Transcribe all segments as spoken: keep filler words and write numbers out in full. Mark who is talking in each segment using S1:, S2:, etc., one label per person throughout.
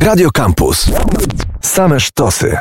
S1: Radio Campus. Same sztosy.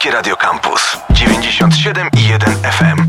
S1: Polskie Radio Campus dziewięćdziesiąt siedem i jeden F M.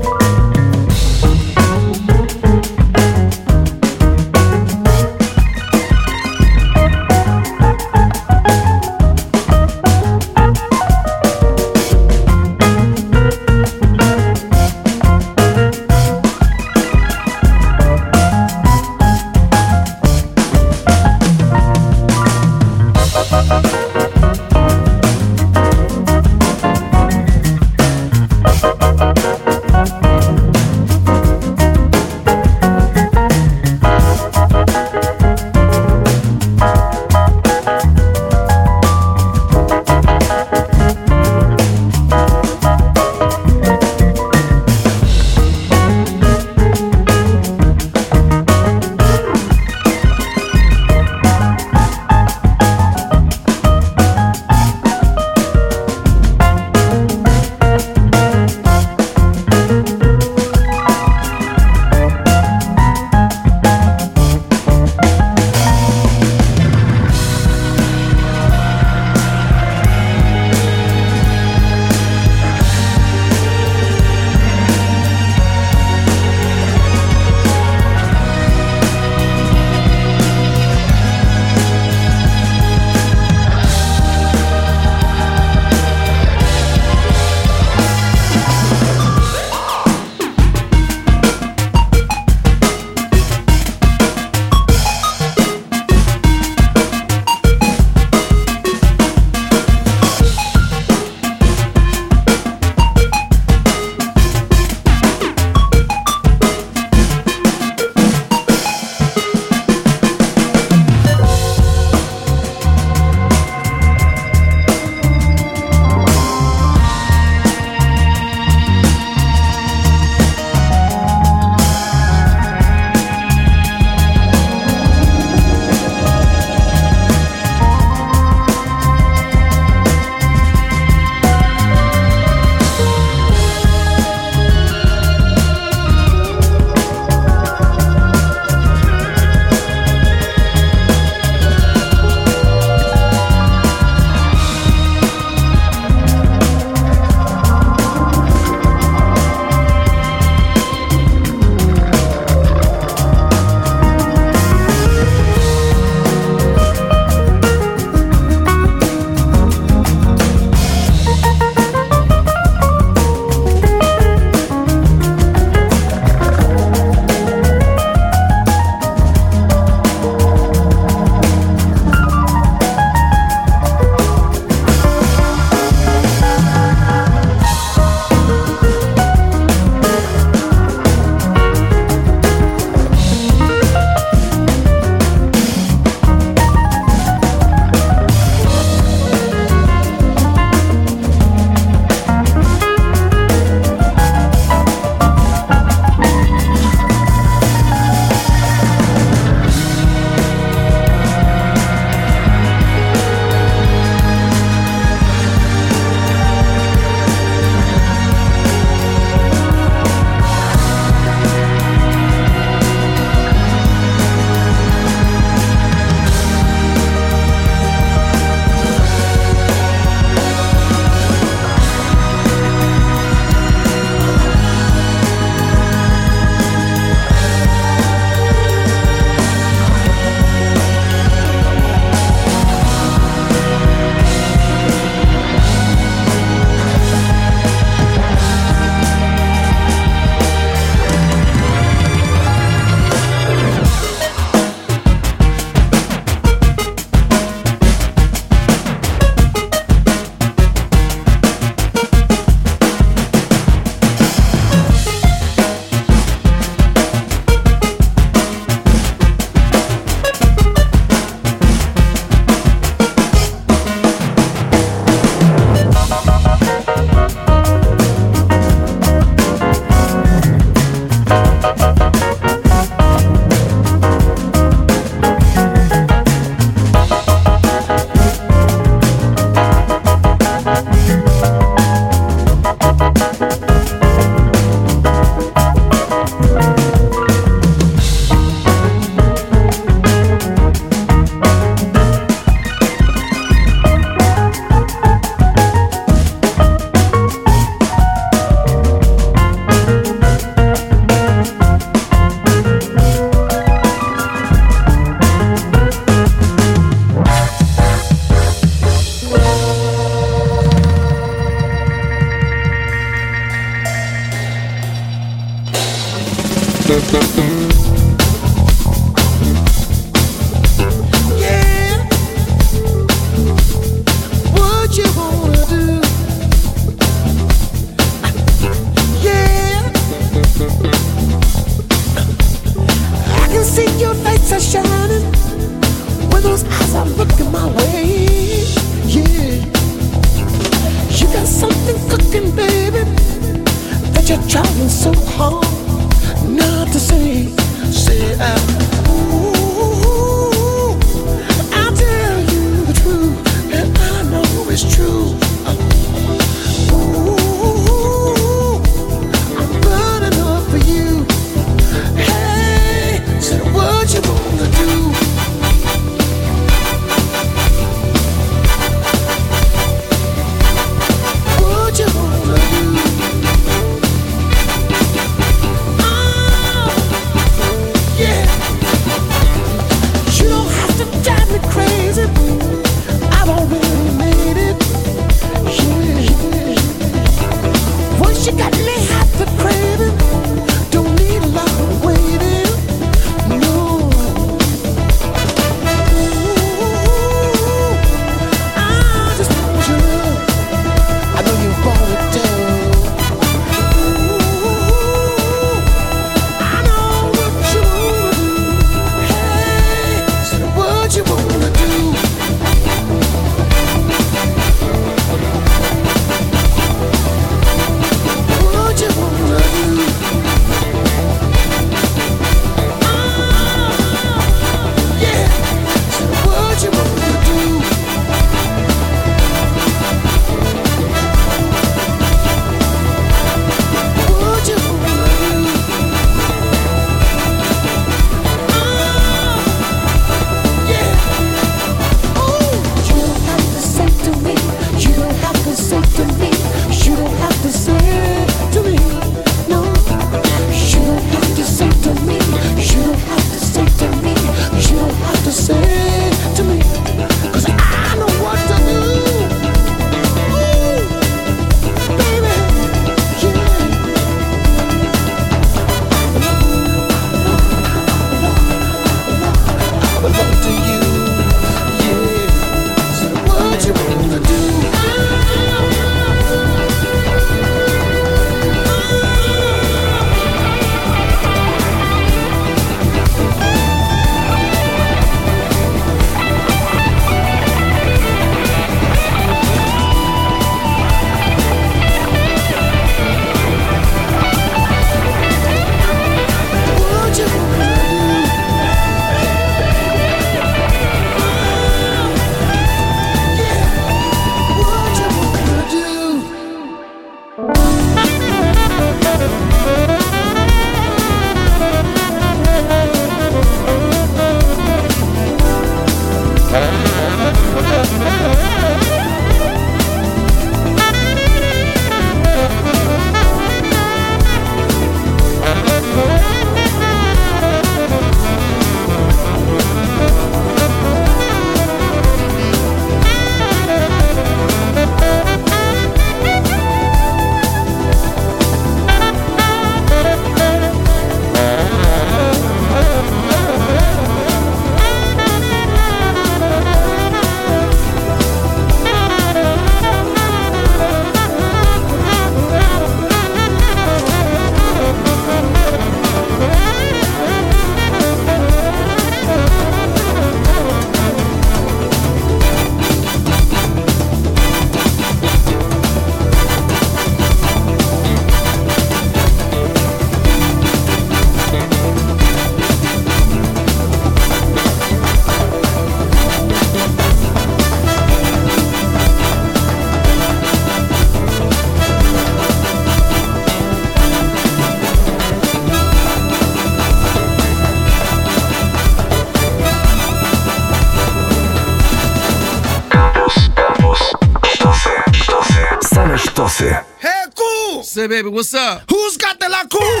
S1: Sztosy.
S2: Hey, cool!
S3: Say, baby, what's up?
S2: Who's got the la cool?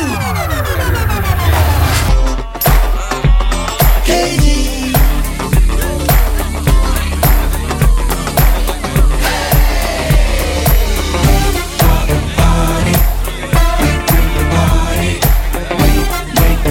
S2: K D. Party. We bring the party. We make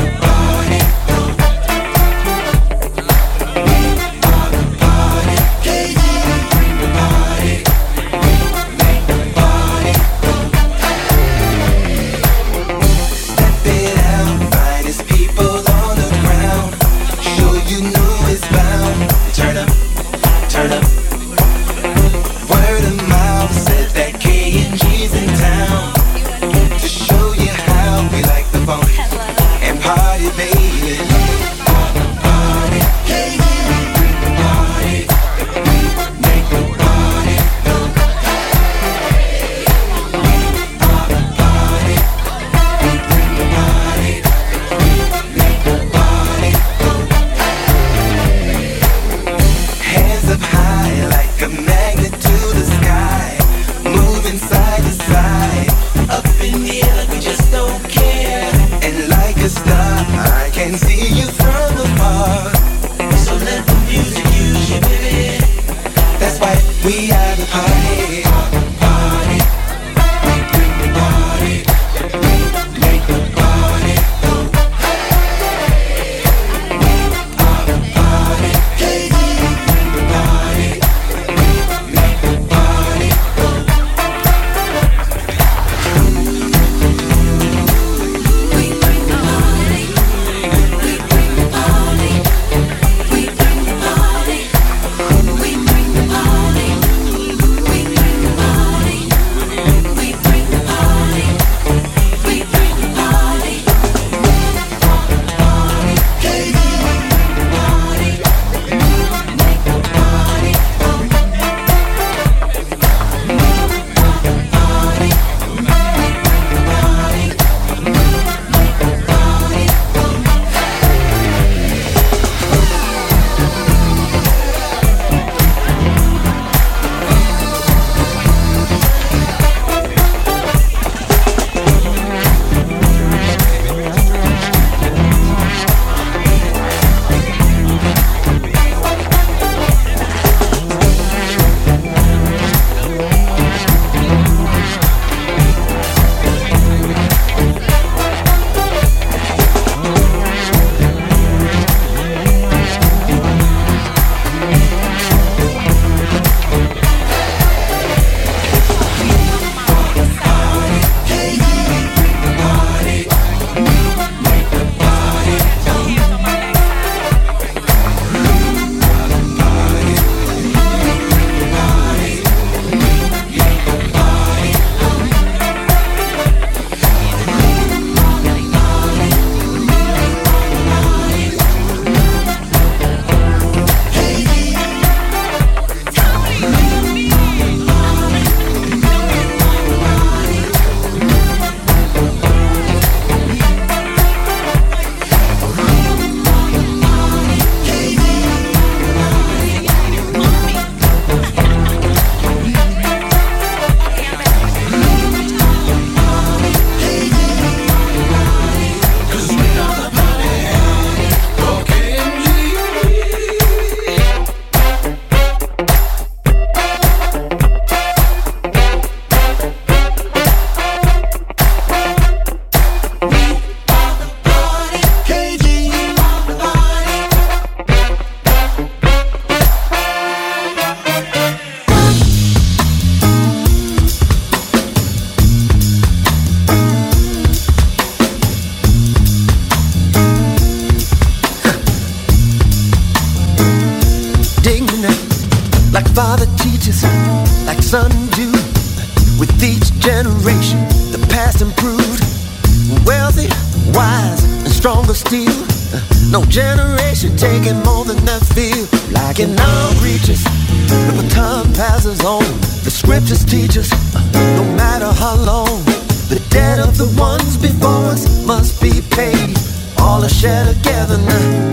S3: stronger steel. No generation taking more than that feel. Like in our reaches, the baton passes on. The scriptures teach us, no matter how long, the debt of the ones before us must be paid. All are shared together now.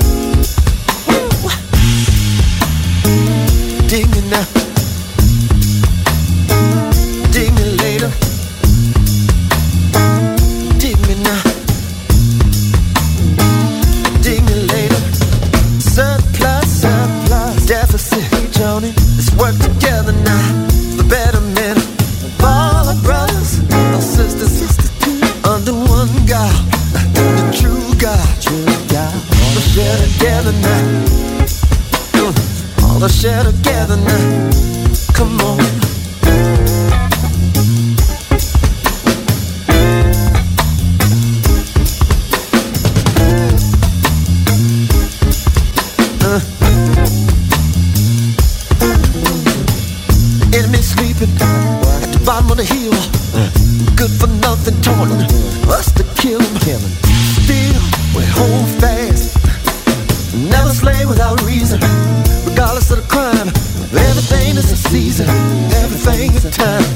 S3: Dig me now. Dig me later. Dig me now. Dig me later. Surplus, surplus, deficit, Johnny. Let's work together now. The betterment of all our brothers, our sisters, sisters under one God, the true God, true God. All are share together now. All are share together now. Come on. Uh. Enemy sleeping at the bottom of the hill. Good for nothing, taunting us to kill him. Still, we hold fast. Never slay without reason. Regardless of the crime, everything is a season, everything is time.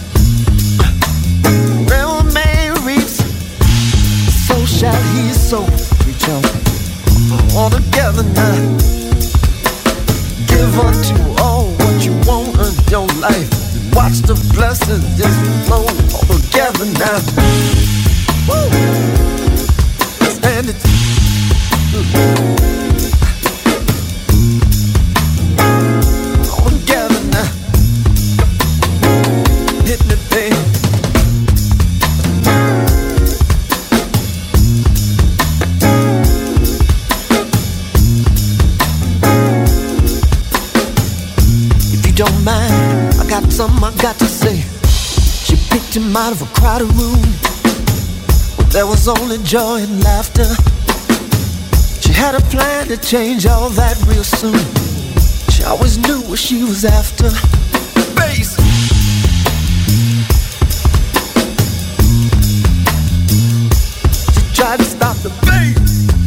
S3: Where a man reaps, so shall he sow. Reach out, all together now. Give unto all what you want in your life. Watch the blessings just flow all together now. Woo! Stand it. Don't mind, I got something I got to say. She picked him out of a crowded room where there was only joy and laughter. She had a plan to change all that real soon. She always knew what she was after. Bass. She tried to stop the bass.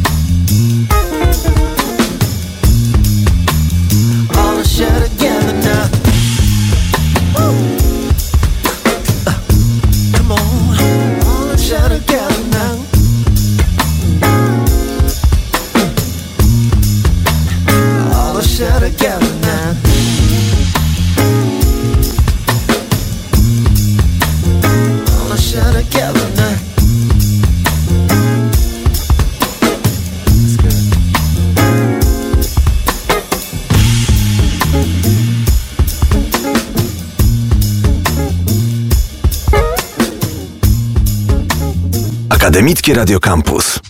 S3: All share together now. Woo. Uh, come on, all share together now. All share together now. All share together now.
S1: Akademickie Radio Campus.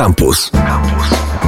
S1: Campus. Campus.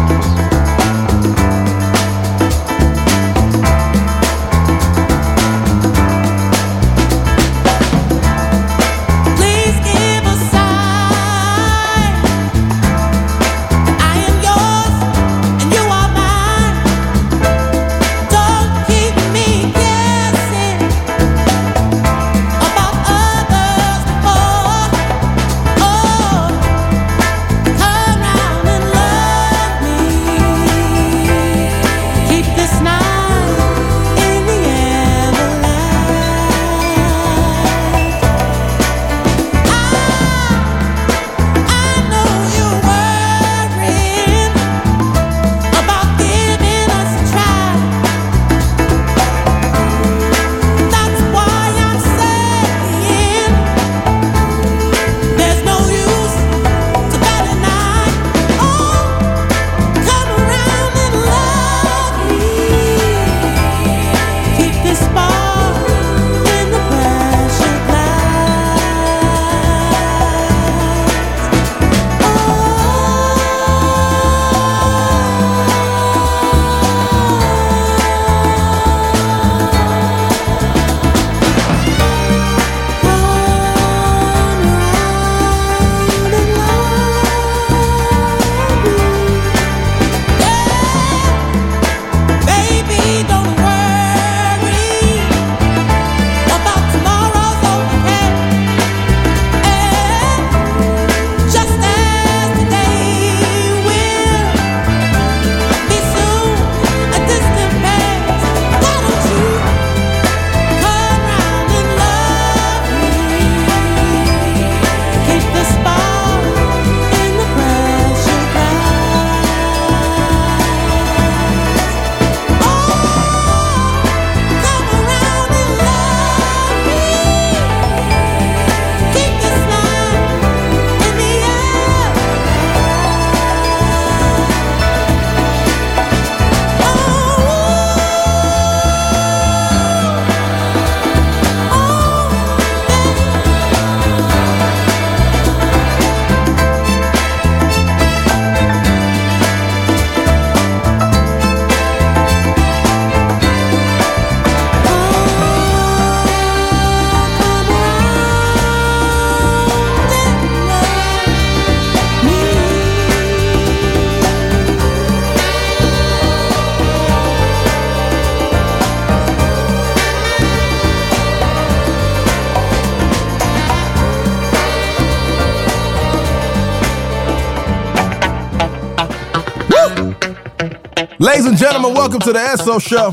S2: Ladies and gentlemen, welcome to the S O Show.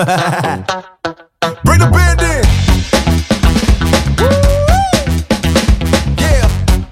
S2: Bring the band in. Yeah.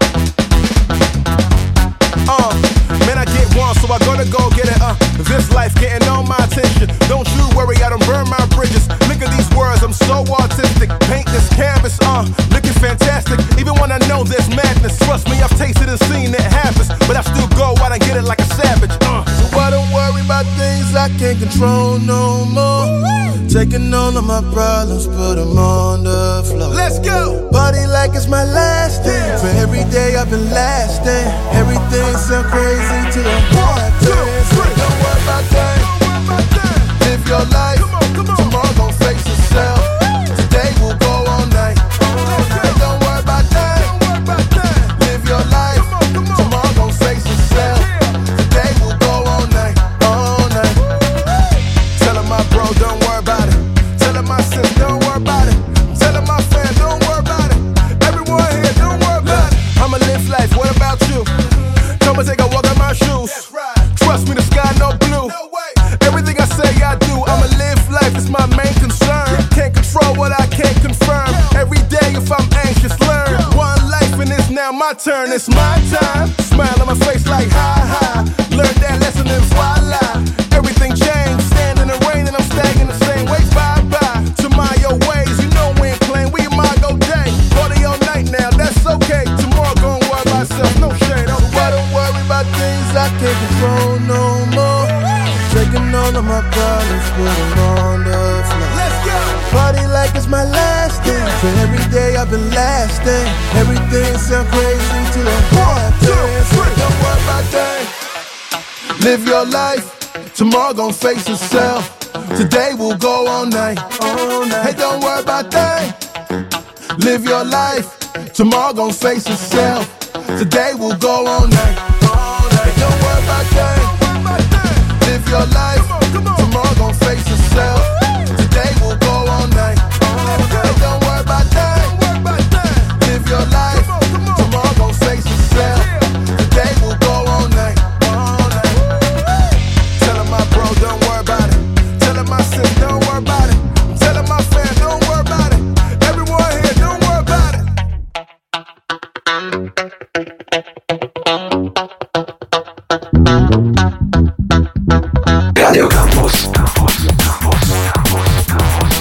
S2: Uh, man, I get one, so I gotta go get it. Uh, this life getting all my attention. Don't you worry, I don't burn my bridges. Look at these words, I'm so artistic. Paint this canvas, uh, looking fantastic. Even when I know there's madness, trust me, I've tasted and seen it happens. But I still go out and get it like a savage. Uh, so I don't worry about things I can't control no more. Taking all of my problems, put them on the floor. Let's go! Party like it's my last day. For every day I've been lasting. Everything sound crazy to the one, two, three. Don't worry about that. Live your life. Come on, come on. Tomorrow gon' face itself. Today will go all night. Hey, don't worry about that. Live your life. Tomorrow gon' face itself. Today will go all night, all night. Telling my bro, don't worry about it. Telling my sis, don't worry about it. Telling my friend, don't worry about it. Everyone here, don't worry about it. I'ma live life, what about you? Come and take a walk in my shoes. Trust me, the sky no blue. Everything I say I do, I'ma live life, it's my main concern. Can't control what I can't confirm. Every day if I'm anxious, learn. One life and it's now my turn, it's my time. Smile on my face like ha ha. Learn that lesson and voila. Everything changed, stand in the rain and I'm staying the same way. Bye bye to my old ways, you know we ain't playing, we might go day. Party all night now, that's okay. Tomorrow gon' worry about myself, no shade. Oh, I don't worry about things I can't control no more. Taking all of my problems, put them on the floor. Let's go! Party like it's my last day. For every day I've been lasting. Everything sound crazy to the one, two, three. Don't worry about that. Live your life, tomorrow gon' face itself. Today will go all night. all night. Hey, don't worry about that. Live your life, tomorrow gon' face itself. Today will go all night. all night. Hey, don't worry about that. Live your life, tomorrow gon' face itself. Today will go all night. Hey, don't worry about that. Live your life, tomorrow gon' face itself. Today will go all night. Telling my bro, don't worry about it. Telling my sis, don't worry about it. Telling my fam, don't worry about it. Everyone here, don't worry about it.
S1: Radio Campus. Campus, Campus, Campus, Campus.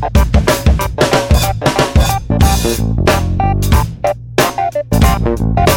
S4: We'll be right back.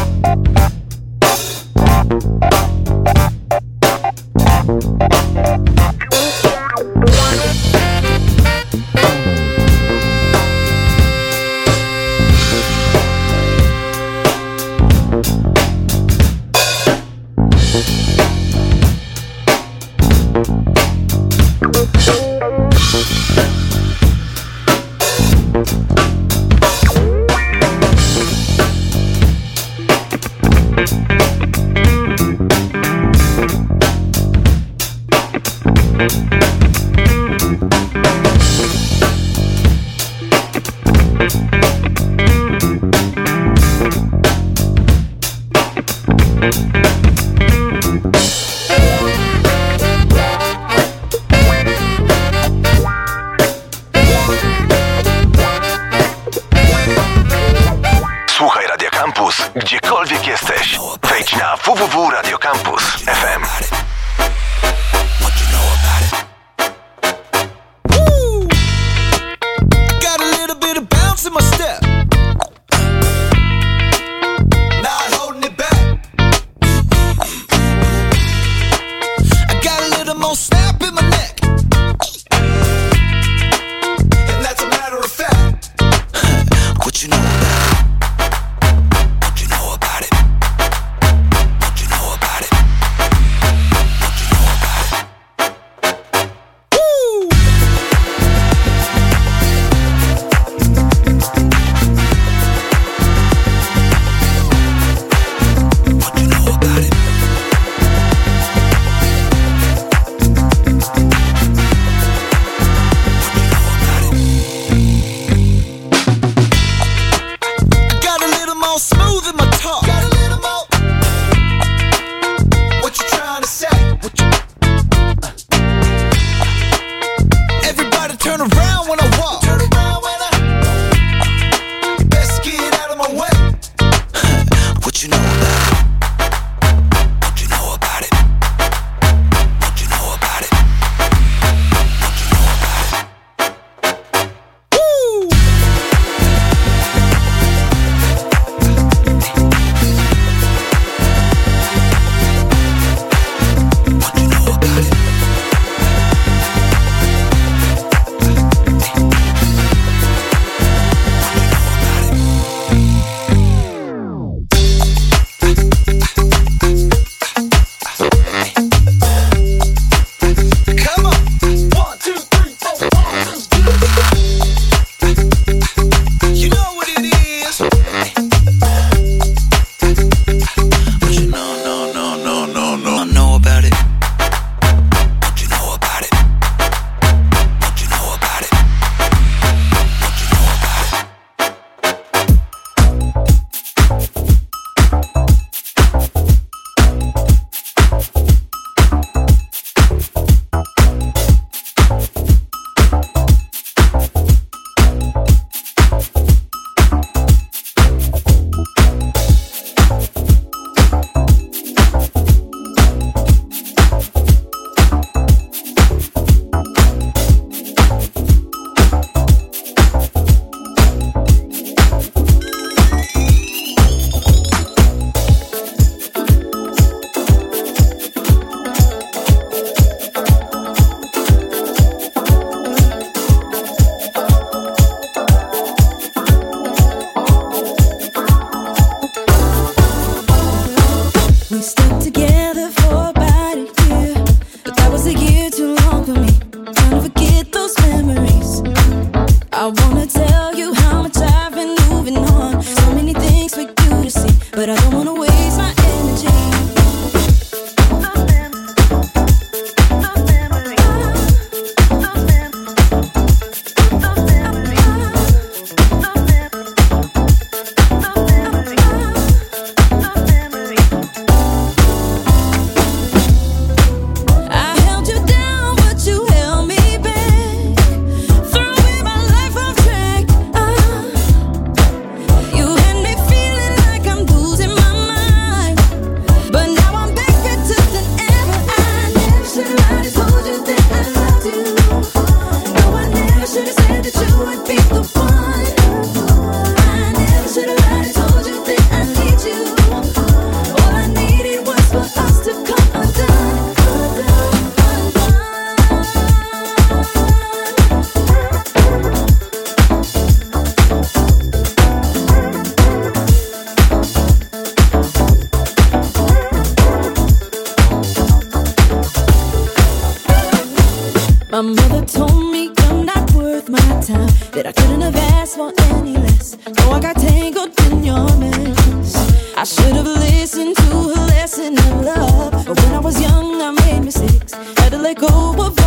S1: Słuchaj Radio Campus, gdziekolwiek jesteś. Wejdź na w w w kropka radio campus kropka f m.
S4: My mother told me you're not worth my time, that I couldn't have asked for any less. So I got tangled in your mess. I should have listened to her lesson of love, but when I was young I made mistakes. Had to let go of